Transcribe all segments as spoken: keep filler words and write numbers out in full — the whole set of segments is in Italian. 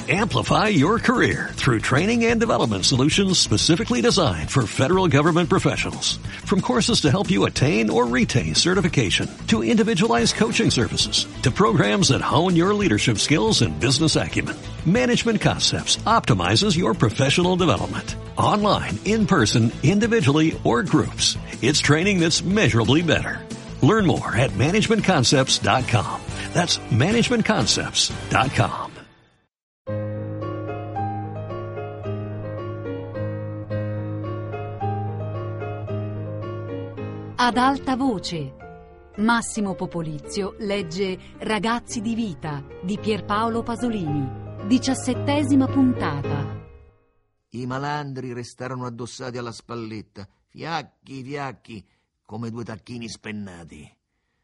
Amplify your career through training and development solutions specifically designed for federal government professionals. From courses to help you attain or retain certification, to individualized coaching services, to programs that hone your leadership skills and business acumen, Management Concepts optimizes your professional development. Online, in person, individually, or groups, it's training that's measurably better. Learn more at management concepts dot com. That's management concepts dot com. Ad alta voce. Massimo Popolizio legge Ragazzi di vita di Pierpaolo Pasolini. Diciassettesima puntata. I malandri restarono addossati alla spalletta, fiacchi, fiacchi, come due tacchini spennati.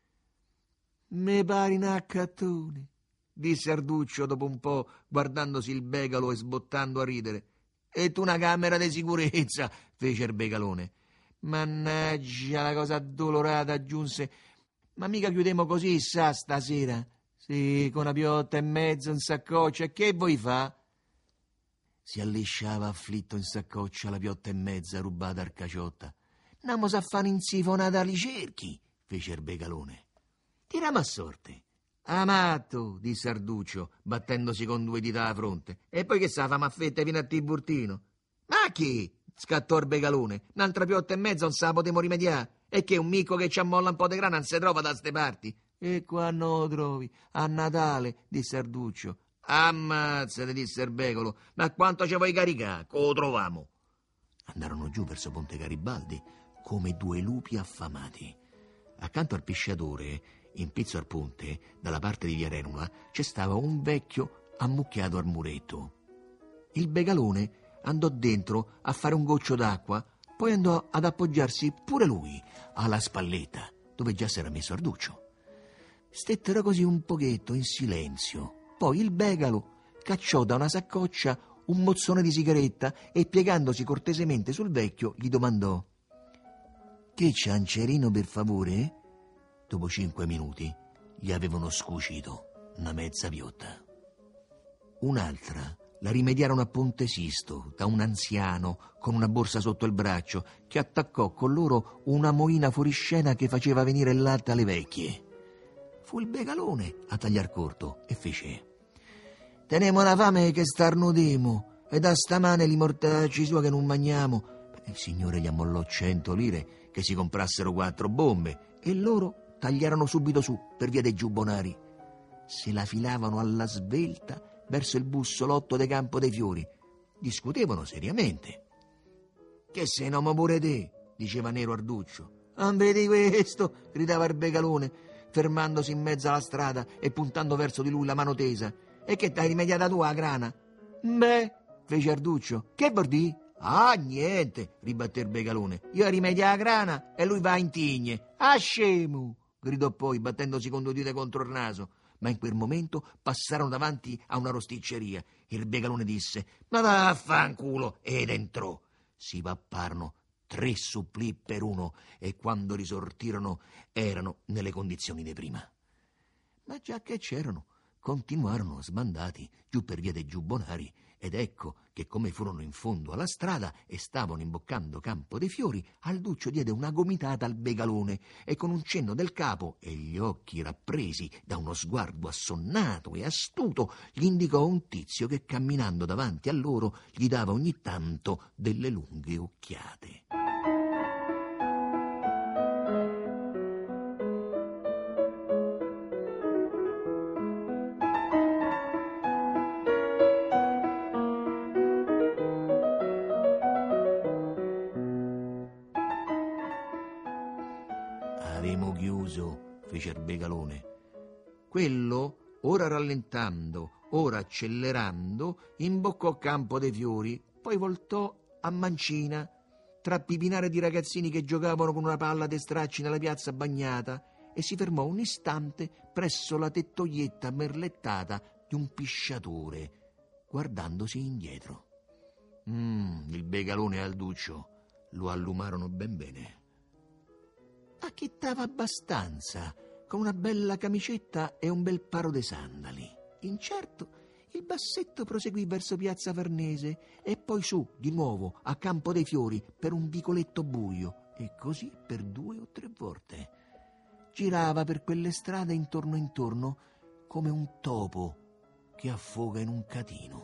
Me pari un accattone, disse Arduccio dopo un po', guardandosi il begalo e sbottando a ridere. E tu una camera di sicurezza, fece il begalone. Mannaggia, la cosa addolorata, aggiunse. Ma mica chiudemo così, sa, stasera? Sì, con una piotta e mezzo in saccoccia, e che vuoi fa? Si allisciava afflitto in saccoccia la piotta e mezza rubata al Caciotta. Andiamo a fare insifonata ali cerchi, fece il begalone. Tiriamo a sorte. Amatto, disse Arduccio, battendosi con due dita alla fronte. E poi che sa, famo a fette fino a Tiburtino? Ma chi? Scattò il begalone. Un'altra piotta e mezza non se la potremo rimediare. E che un mico che ci ammolla un po' di grana non si trova da ste parti. E quando lo trovi? A Natale, disse Arduccio. Ammazzate, disse il begalo. Ma quanto ci vuoi caricare? Che lo troviamo? Andarono giù verso Ponte Garibaldi come due lupi affamati. Accanto al pisciatore, in pizzo al ponte, dalla parte di via Renula, c'è stava un vecchio ammucchiato al muretto. Il begalone andò dentro a fare un goccio d'acqua, poi andò ad appoggiarsi pure lui alla spalletta, dove già s'era messo Arduccio. Stettero così un pochetto in silenzio. Poi il begalo cacciò da una saccoccia un mozzone di sigaretta e, piegandosi cortesemente sul vecchio, gli domandò: «Che ciancerino, per favore?» Dopo cinque minuti gli avevano scucito una mezza piotta. Un'altra la rimediarono a Ponte Sisto da un anziano con una borsa sotto il braccio che attaccò con loro una moina fuoriscena che faceva venire il latte alle vecchie. Fu il begalone a tagliar corto e fece: «Tenemo una fame che starnudemo e da stamane li mortacci sua che non mangiamo». Il signore gli ammollò cento lire che si comprassero quattro bombe e loro tagliarono subito su per via dei giubbonari. Se la filavano alla svelta verso il bussolotto de Campo dei Fiori. Discutevano seriamente. «Che sei nomo pure te?» diceva Nero Arduccio. «Non vedi questo?» gridava il begalone, fermandosi in mezzo alla strada e puntando verso di lui la mano tesa. «E che t'hai rimediata tu a grana?» «Beh», fece Arduccio, «che vuol dire?» «Ah, niente», ribatté il begalone. «Io rimedia la grana e lui va in tigne». «Ah, scemo!» gridò poi, battendosi con due dita contro il naso. Ma in quel momento passarono davanti a una rosticceria. Il begalone disse: «Ma vaffanculo!» ed entrò. Si papparono tre supplì per uno e quando risortirono erano nelle condizioni di prima. Ma già che c'erano, continuarono sbandati giù per via dei giubbonari ed ecco che, come furono in fondo alla strada e stavano imboccando Campo dei Fiori, Alduccio diede una gomitata al begalone e con un cenno del capo e gli occhi rappresi da uno sguardo assonnato e astuto gli indicò un tizio che camminando davanti a loro gli dava ogni tanto delle lunghe occhiate. «Avemo chiuso», fece il begalone. Quello, ora rallentando, ora accelerando, imboccò Campo dei Fiori, poi voltò a mancina, tra pipinare di ragazzini che giocavano con una palla de stracci nella piazza bagnata, e si fermò un istante presso la tettoietta merlettata di un pisciatore, guardandosi indietro. Mm, il begalone e Alduccio lo allumarono ben bene. Acchittava abbastanza, con una bella camicetta e un bel paro de sandali. Incerto, Il bassetto proseguì verso piazza Farnese e poi su di nuovo a Campo dei Fiori per un vicoletto buio, e così per due o tre volte. Girava per quelle strade intorno intorno come un topo che affoga in un catino.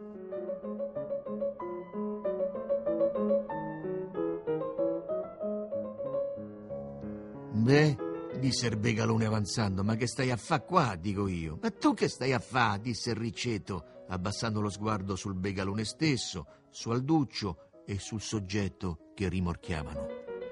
Beh, disse il Begalone avanzando, ma che stai a fa qua, dico io. Ma tu che stai a fa, disse il Riccetto, abbassando lo sguardo sul Begalone stesso, su Alduccio e sul soggetto che rimorchiavano.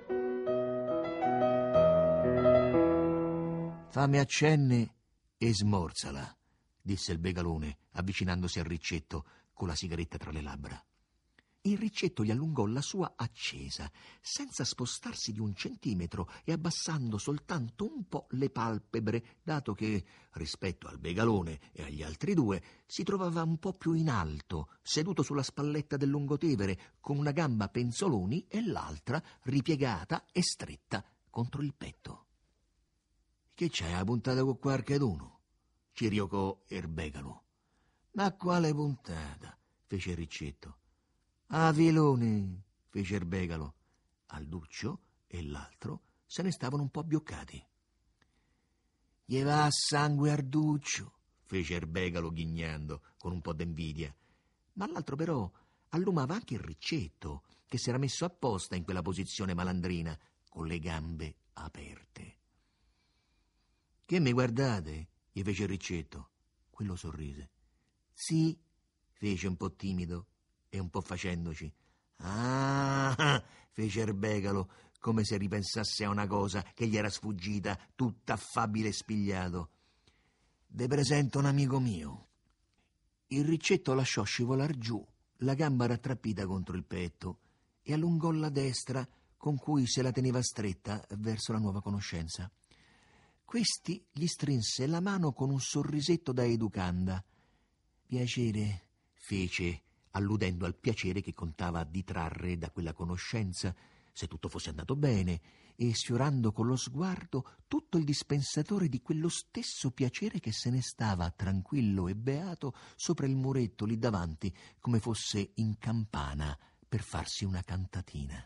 Fammi accenne e smorzala, disse il Begalone, avvicinandosi al Riccetto con la sigaretta tra le labbra. Il Riccetto gli allungò la sua accesa, senza spostarsi di un centimetro e abbassando soltanto un po' le palpebre, dato che, rispetto al Begalone e agli altri due, si trovava un po' più in alto, seduto sulla spalletta del lungotevere, con una gamba a penzoloni e l'altra ripiegata e stretta contro il petto. «Che c'hai, la puntata con qualcheduno?» ci riocò Erbegalo. «Ma quale puntata?» fece il Riccetto. «Ah, filone!» fece il Begalo. Alduccio e l'altro se ne stavano un po' abbioccati. «Gli va a sangue Arduccio!» fece il Begalo ghignando, con un po' d'invidia. Ma l'altro però allumava anche il Riccetto, che si era messo apposta in quella posizione malandrina, con le gambe aperte. «Che mi guardate?» gli fece il Riccetto. Quello sorrise. «Sì», fece un po' timido e un po' facendoci. «Ah!» fece il Begalo, come se ripensasse a una cosa che gli era sfuggita, tutta affabile e spigliato. «Ve presento un amico mio». Il Riccetto lasciò scivolar giù la gamba rattrappita contro il petto e allungò la destra con cui se la teneva stretta verso la nuova conoscenza. Questi gli strinse la mano con un sorrisetto da educanda. «Piacere», fece, alludendo al piacere che contava di trarre da quella conoscenza, se tutto fosse andato bene, e sfiorando con lo sguardo tutto il dispensatore di quello stesso piacere che se ne stava tranquillo e beato sopra il muretto lì davanti, come fosse in campana per farsi una cantatina.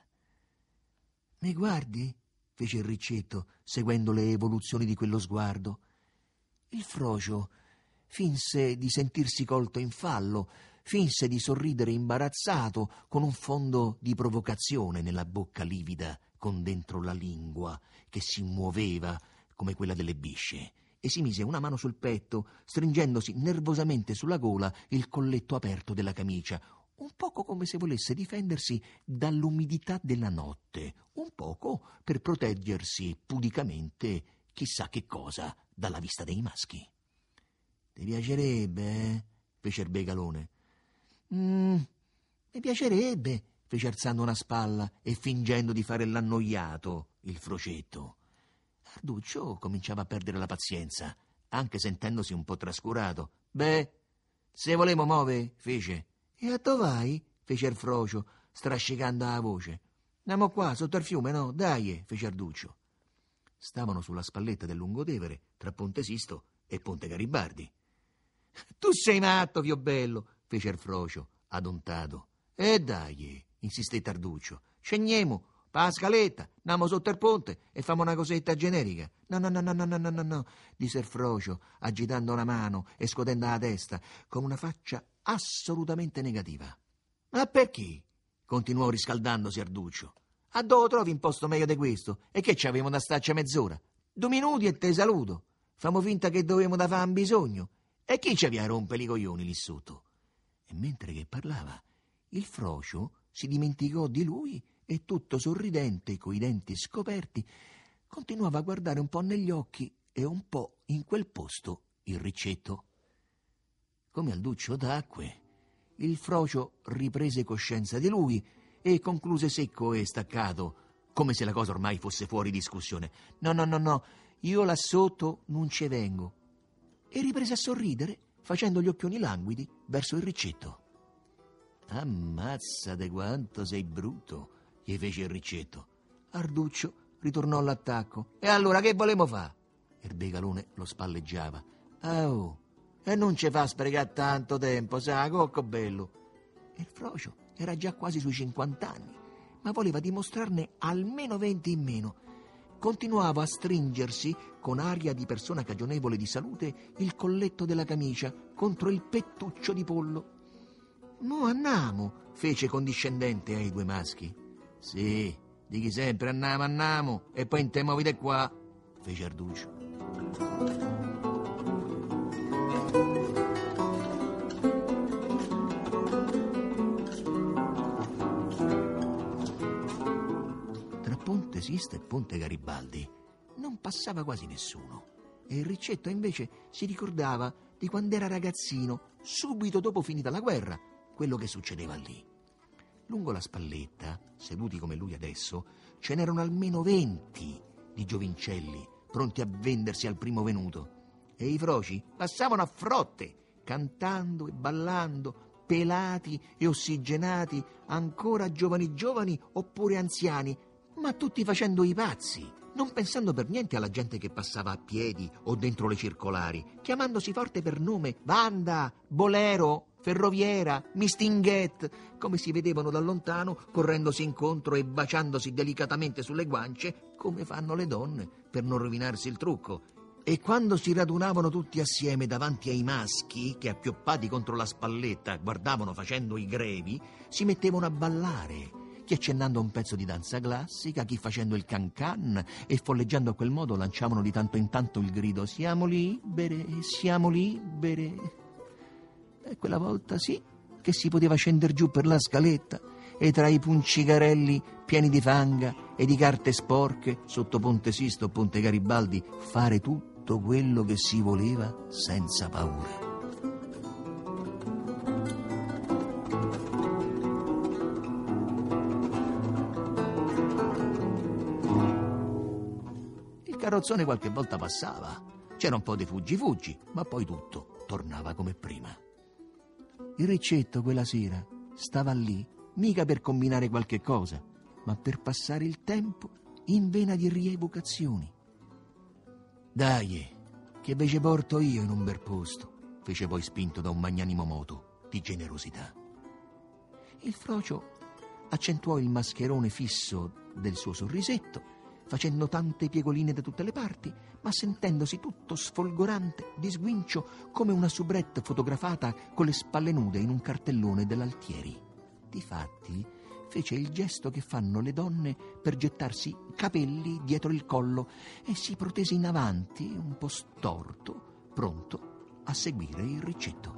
«Mi guardi?» fece il Riccetto, seguendo le evoluzioni di quello sguardo. Il Frocio finse di sentirsi colto in fallo, finse di sorridere imbarazzato, con un fondo di provocazione nella bocca livida, con dentro la lingua che si muoveva come quella delle bisce, e si mise una mano sul petto, stringendosi nervosamente sulla gola il colletto aperto della camicia, un poco come se volesse difendersi dall'umidità della notte, un poco per proteggersi pudicamente chissà che cosa dalla vista dei maschi. «Ti piacerebbe, eh?» fece il Begalone. «Mm, mi piacerebbe», fece alzando una spalla e fingendo di fare l'annoiato il Frocetto. Arduccio cominciava a perdere la pazienza, anche sentendosi un po' trascurato. «Beh, se volemo muove», fece. «E a dove vai?» fece il Frocio, strascicando la voce. «Andiamo qua, sotto il fiume, no? Dai», fece Arduccio. Stavano sulla spalletta del lungotevere, tra Ponte Sisto e Ponte Garibaldi. «Tu sei matto, Viobello», fece il Frocio, adontato. «E dai», insistette Arduccio, «scendiamo, pa' la scaletta, andiamo sotto il ponte e famo una cosetta generica». «No, no, no, no, no, no, no, no», disse il Frocio, agitando una mano e scotendo la testa, con una faccia assolutamente negativa. «Ma perché?» continuò riscaldandosi Arduccio. «A dove trovi un posto meglio di questo? E che ci avevamo da starci mezz'ora? Due minuti e te saluto. Famo finta che dovevamo da fare un bisogno. E chi ci aveva a rompere i coglioni lì sotto?» E mentre che parlava, il Frocio si dimenticò di lui e, tutto sorridente, coi denti scoperti, continuava a guardare un po' negli occhi e un po' in quel posto il Riccetto. Come Alduccio tacque, il Frocio riprese coscienza di lui e concluse secco e staccato, come se la cosa ormai fosse fuori discussione. «No, no, no, no, io là sotto non ci vengo». E riprese a sorridere, facendo gli occhioni languidi verso il Riccetto. «Ammazzate quanto sei brutto», gli fece il Riccetto. Arduccio ritornò all'attacco. «E allora che volemo fa?» Il Begalone lo spalleggiava. «Ah, oh, E non ci fa sprecare tanto tempo, sa, cocco bello. E il frocio era già quasi sui cinquant'anni, ma voleva dimostrarne almeno venti in meno. Continuava a stringersi, con aria di persona cagionevole di salute, il colletto della camicia contro il pettuccio di pollo. «Mo andiamo», fece condiscendente ai due maschi. «Sì, dighi sempre andiamo, andiamo, e poi inte movite qua», fece Arduccio. Tra Ponte Sista e Ponte Garibaldi non passava quasi nessuno, e il Riccetto invece si ricordava di quando era ragazzino, subito dopo finita la guerra, quello che succedeva lì. Lungo la Spalletta, seduti come lui adesso, ce n'erano almeno venti di giovincelli pronti a vendersi al primo venuto, e i froci passavano a frotte, cantando e ballando, pelati e ossigenati, ancora giovani giovani oppure anziani, ma tutti facendo i pazzi, non pensando per niente alla gente che passava a piedi o dentro le circolari, chiamandosi forte per nome Wanda, Bolero, Ferroviera, Mistinguet, come si vedevano da lontano, correndosi incontro e baciandosi delicatamente sulle guance, come fanno le donne per non rovinarsi il trucco. E quando si radunavano tutti assieme davanti ai maschi, che appioppati contro la Spalletta guardavano facendo i grevi, si mettevano a ballare, chi accennando un pezzo di danza classica, chi facendo il can-can, e folleggiando a quel modo lanciavano di tanto in tanto il grido «Siamo libere, siamo libere». E quella volta sì che si poteva scendere giù per la scaletta e tra i puncicarelli pieni di fanga e di carte sporche sotto Ponte Sisto o Ponte Garibaldi fare tutto quello che si voleva senza paura. Il carrozzone qualche volta passava, c'era un po' di fuggi-fuggi, ma poi tutto tornava come prima. Il Riccetto quella sera stava lì, mica per combinare qualche cosa, ma per passare il tempo in vena di rievocazioni. «Dai, che ve ci porto io in un bel posto», fece poi spinto da un magnanimo moto di generosità. Il frocio accentuò il mascherone fisso del suo sorrisetto, facendo tante piegoline da tutte le parti, ma sentendosi tutto sfolgorante di sguincio come una soubrette fotografata con le spalle nude in un cartellone dell'Altieri. Difatti fece il gesto che fanno le donne per gettarsi i capelli dietro il collo e si protese in avanti, un po' storto, pronto a seguire il Riccetto.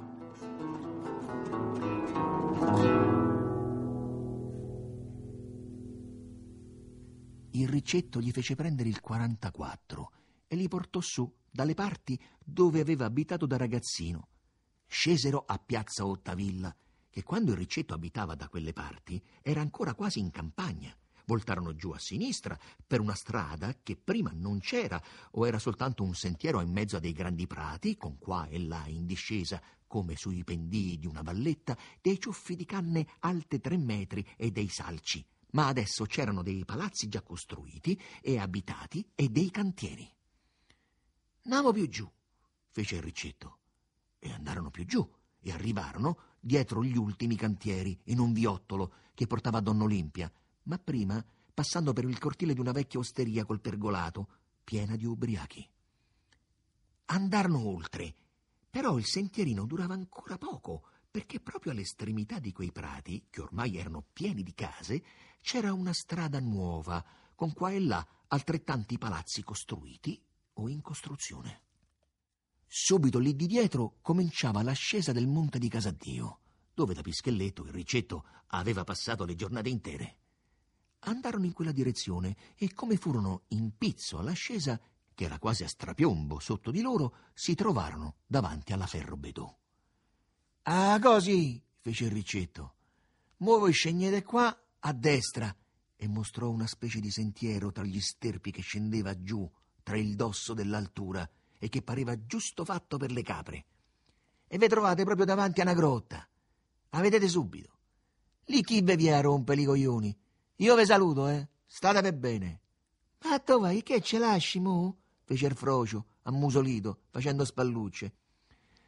Il Riccetto gli fece prendere il quarantaquattro e li portò su dalle parti dove aveva abitato da ragazzino. Scesero a Piazza Ottavilla, che quando il Riccetto abitava da quelle parti era ancora quasi in campagna. Voltarono giù a sinistra per una strada che prima non c'era o era soltanto un sentiero in mezzo a dei grandi prati, con qua e là in discesa, come sui pendii di una valletta, dei ciuffi di canne alte tre metri e dei salci. Ma adesso c'erano dei palazzi già costruiti e abitati e dei cantieri. «Andiamo più giù», fece il Riccetto. E andarono più giù e arrivarono dietro gli ultimi cantieri in un viottolo che portava a Donna Olimpia, ma prima passando per il cortile di una vecchia osteria col pergolato, piena di ubriachi. Andarono oltre, però il sentierino durava ancora poco, perché proprio all'estremità di quei prati, che ormai erano pieni di case, c'era una strada nuova, con qua e là altrettanti palazzi costruiti o in costruzione. Subito lì di dietro cominciava l'ascesa del Monte di Casadio, dove da Pischelletto il Riccetto aveva passato le giornate intere. Andarono in quella direzione e come furono in pizzo all'ascesa, che era quasi a strapiombo sotto di loro, si trovarono davanti alla Ferrobedò. «Ah, così», fece il Riccetto. «Mo voi scegliete qua a destra», e mostrò una specie di sentiero tra gli sterpi che scendeva giù tra il dosso dell'altura e che pareva giusto fatto per le capre. «E ve trovate proprio davanti a una grotta. La vedete subito. Lì chi ve vi rompe i coglioni? Io ve saluto, eh. State per bene». «Ma tu vai, che ce lasci, mo?» fece il frocio, ammusolito, facendo spallucce.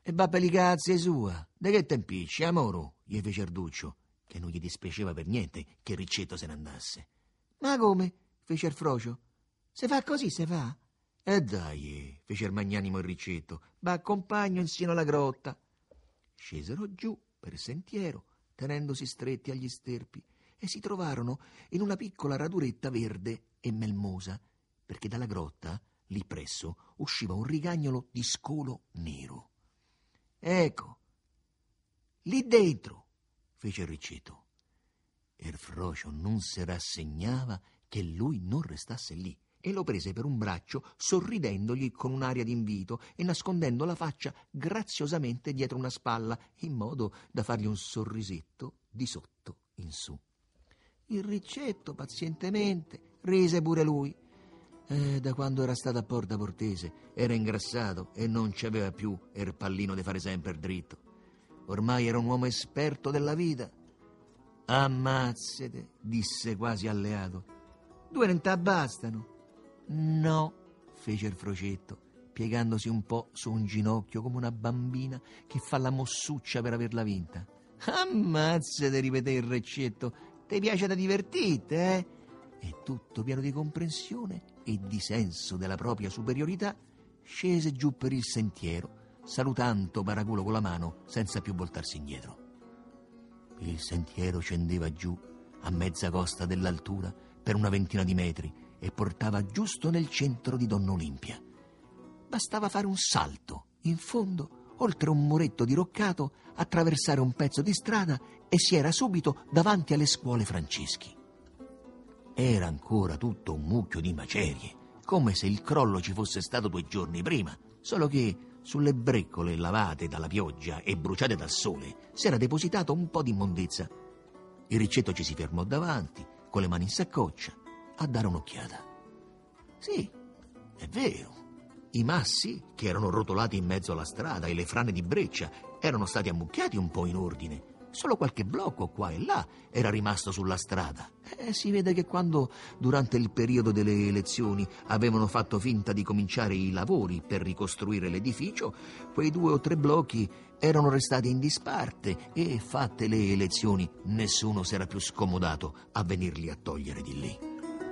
E va per li cazzi sua. De che te impicci, amoro? Gli fece Arduccio, che non gli dispiaceva per niente che il Riccetto se ne andasse. Ma come? Fece il Frocio. Se fa così, se fa? E dai, fece il magnanimo il Riccetto, va accompagno insino alla grotta. Scesero giù per il sentiero, tenendosi stretti agli sterpi, e si trovarono in una piccola raduretta verde e melmosa, perché dalla grotta, lì presso, usciva un rigagnolo di scolo nero. Ecco, lì dentro, fece il Riccetto. E il Frocio non si rassegnava che lui non restasse lì, e lo prese per un braccio, sorridendogli con un'aria d'invito e nascondendo la faccia graziosamente dietro una spalla, in modo da fargli un sorrisetto di sotto in su. Il Riccetto pazientemente rise pure lui. Eh, da quando era stato a Porta Portese era ingrassato e non ci aveva più il pallino di fare sempre dritto. Ormai era un uomo esperto della vita. Ammazzate, disse quasi alleato. Due non t'abbastano. No, fece il Frocetto, piegandosi un po' su un ginocchio come una bambina che fa la mossuccia per averla vinta. Ammazzate, ripeté il Riccetto, ti piace da divertirti, eh? E tutto pieno di comprensione e di senso della propria superiorità, scese giù per il sentiero, salutando Paraculo con la mano senza più voltarsi indietro. Il sentiero scendeva giù a mezza costa dell'altura per una ventina di metri e portava giusto nel centro di Donna Olimpia. Bastava fare un salto in fondo, oltre un muretto diroccato, attraversare un pezzo di strada e si era subito davanti alle scuole Franceschi. Era ancora tutto un mucchio di macerie, come se il crollo ci fosse stato due giorni prima, solo che sulle breccole lavate dalla pioggia e bruciate dal sole si era depositato un po' di immondezza. Il Riccetto ci si fermò davanti, con le mani in saccoccia, a dare un'occhiata. Sì, è vero. I massi, che erano rotolati in mezzo alla strada, e le frane di breccia erano stati ammucchiati un po' in ordine. Solo qualche blocco qua e là era rimasto sulla strada. E si vede che quando, durante il periodo delle elezioni, avevano fatto finta di cominciare i lavori per ricostruire l'edificio, quei due o tre blocchi erano restati in disparte e, fatte le elezioni, nessuno si era più scomodato a venirli a togliere di lì.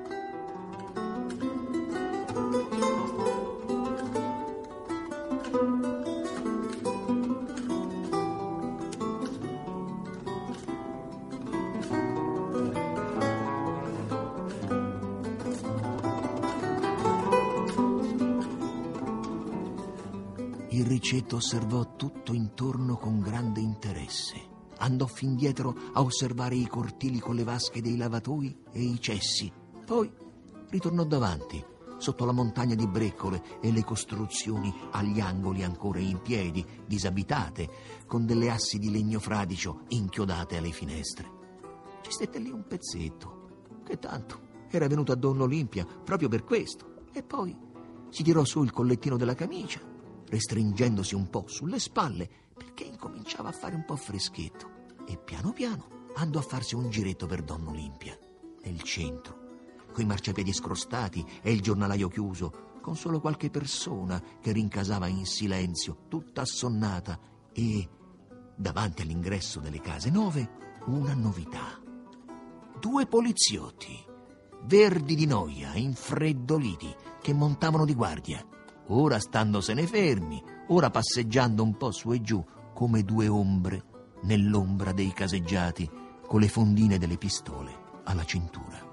Il Riccetto osservò tutto intorno con grande interesse. Andò fin dietro a osservare i cortili con le vasche dei lavatoi e i cessi. Poi ritornò davanti, sotto la montagna di breccole e le costruzioni agli angoli ancora in piedi, disabitate, con delle assi di legno fradicio inchiodate alle finestre. Ci stette lì un pezzetto, che tanto era venuto a Donna Olimpia proprio per questo. E poi si tirò su il collettino della camicia, restringendosi un po' sulle spalle perché incominciava a fare un po' freschetto, e piano piano andò a farsi un giretto per Donna Olimpia, nel centro, coi marciapiedi scrostati e il giornalaio chiuso, con solo qualche persona che rincasava in silenzio, tutta assonnata, e davanti all'ingresso delle case nuove una novità. Due poliziotti, verdi di noia, infreddoliti, che montavano di guardia, ora standosene fermi, ora passeggiando un po' su e giù come due ombre nell'ombra dei caseggiati, con le fondine delle pistole alla cintura.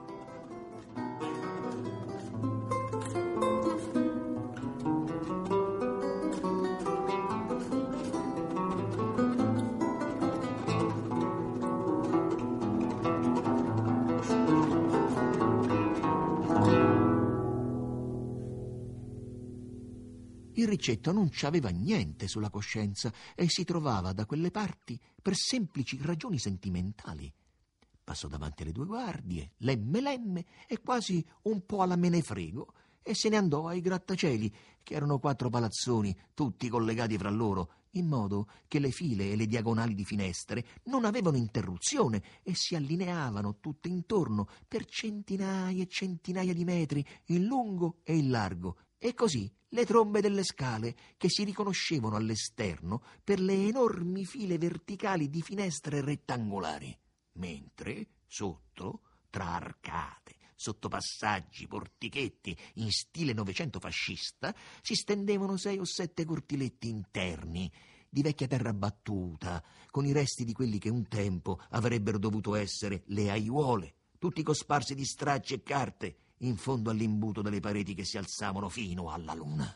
Il Riccetto non c'aveva niente sulla coscienza e si trovava da quelle parti per semplici ragioni sentimentali. Passò davanti alle due guardie, lemme lemme e quasi un po' alla menefrego, e se ne andò ai grattacieli, che erano quattro palazzoni, tutti collegati fra loro, in modo che le file e le diagonali di finestre non avevano interruzione e si allineavano tutte intorno per centinaia e centinaia di metri in lungo e in largo, E così le trombe delle scale, che si riconoscevano all'esterno per le enormi file verticali di finestre rettangolari, mentre sotto, tra arcate, sottopassaggi, portichetti in stile novecento fascista, si stendevano sei o sette cortiletti interni di vecchia terra battuta, con i resti di quelli che un tempo avrebbero dovuto essere le aiuole, tutti cosparsi di stracci e carte, in fondo all'imbuto delle pareti che si alzavano fino alla luna.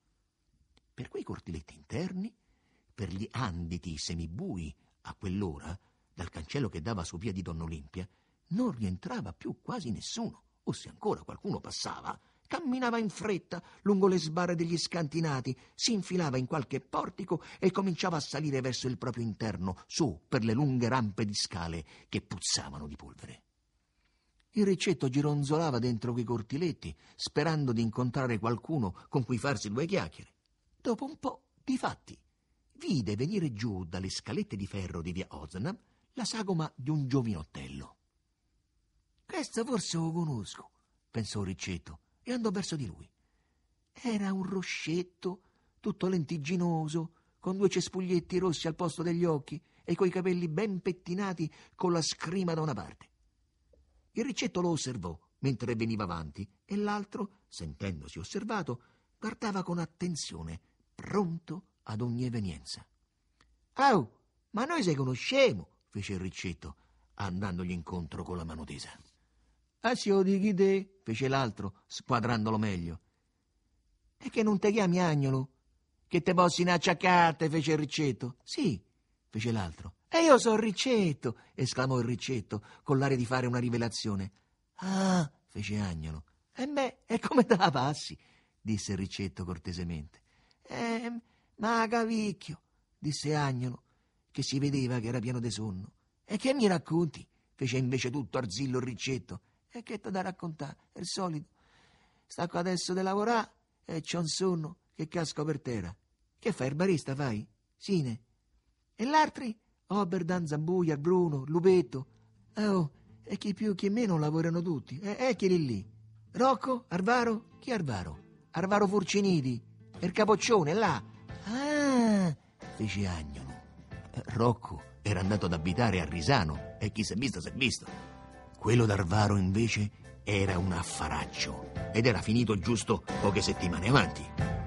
Per quei cortiletti interni, per gli anditi semibui a quell'ora, dal cancello che dava su via di Donna Olimpia, non rientrava più quasi nessuno, o se ancora qualcuno passava, camminava in fretta lungo le sbarre degli scantinati, si infilava in qualche portico e cominciava a salire verso il proprio interno, su per le lunghe rampe di scale che puzzavano di polvere. Il Riccetto gironzolava dentro quei cortiletti, sperando di incontrare qualcuno con cui farsi due chiacchiere. Dopo un po', difatti, vide venire giù dalle scalette di ferro di via Ozanam la sagoma di un giovinottello. «Questo forse lo conosco», pensò Riccetto, e andò verso di lui. Era un roscetto, tutto lentigginoso, con due cespuglietti rossi al posto degli occhi e coi capelli ben pettinati con la scrima da una parte. Il Riccetto lo osservò mentre veniva avanti e l'altro, sentendosi osservato, guardava con attenzione, pronto ad ogni evenienza. «Oh, ma noi se conosciamo», fece il Riccetto, andandogli incontro con la mano tesa. «Ah, sì, lo dichi te», fece l'altro, squadrandolo meglio. «E che non te chiami Agnolo? Che te possi acciaccate», fece il Riccetto. «Sì», fece l'altro. «E io sono Riccetto», esclamò il Riccetto, con l'aria di fare una rivelazione. «Ah», fece Agnolo. «E beh, e come te la passi?» disse il Riccetto cortesemente. «Eh, ma cavicchio», disse Agnolo, che si vedeva che era pieno di sonno. «E che mi racconti?» fece invece tutto arzillo il Riccetto. «E che t'ho da raccontare? È il solito. Stacco adesso di lavorare e c'ho un sonno che casco per terra. Che fai, il barista fai? Sine? E l'altri? Oberdan, Zambuia, Bruno, Lupetto. Oh, e chi più chi meno lavorano tutti. E eh, chi lì? Rocco? Arvaro? Chi Arvaro? Arvaro Furciniti. E il capoccione, là. Ah, fece Agnolo. Rocco era andato ad abitare a Risano e chi s'è visto s'è visto. Quello d'Arvaro invece era un affaraccio ed era finito giusto poche settimane avanti.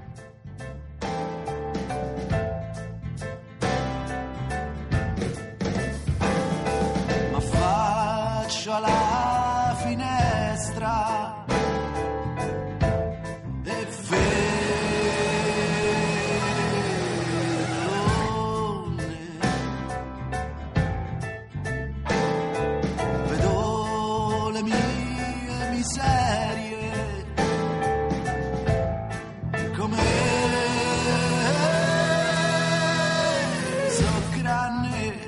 Ma faccio alla finestra e vedo le mie miserie come so grande,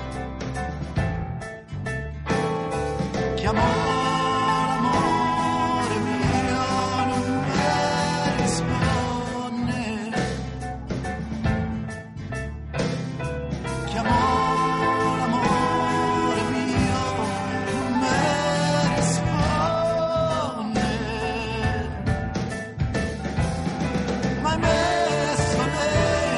chiamo l'amore mio, non mi risponde, chiamo l'amore mio, non mi risponde, ma hai messo le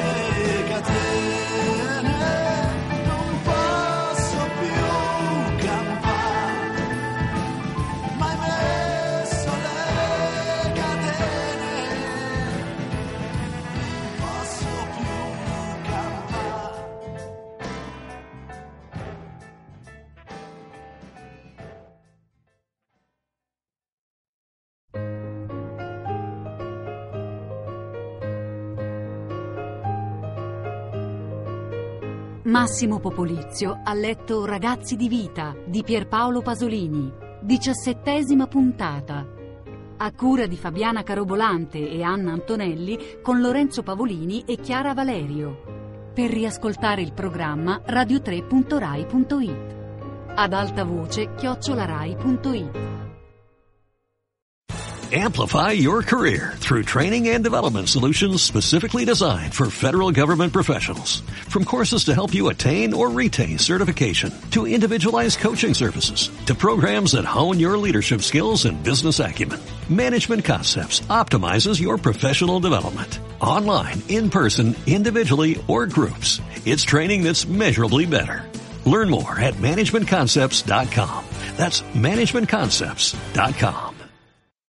catene, non posso più campare, ma hai messo le catene, non posso più campare. Massimo Popolizio ha letto Ragazzi di vita di Pierpaolo Pasolini, diciassettesima puntata, a cura di Fabiana Carobolante e Anna Antonelli con Lorenzo Pavolini e Chiara Valerio. Per riascoltare il programma radio tre punto rai punto it. Ad alta voce chiocciolarai punto it. Amplify your career through training and development solutions specifically designed for federal government professionals. From courses to help you attain or retain certification, to individualized coaching services, to programs that hone your leadership skills and business acumen, Management Concepts optimizes your professional development. Online, in person, individually, or groups, it's training that's measurably better. Learn more at management concepts dot com. That's management concepts dot com.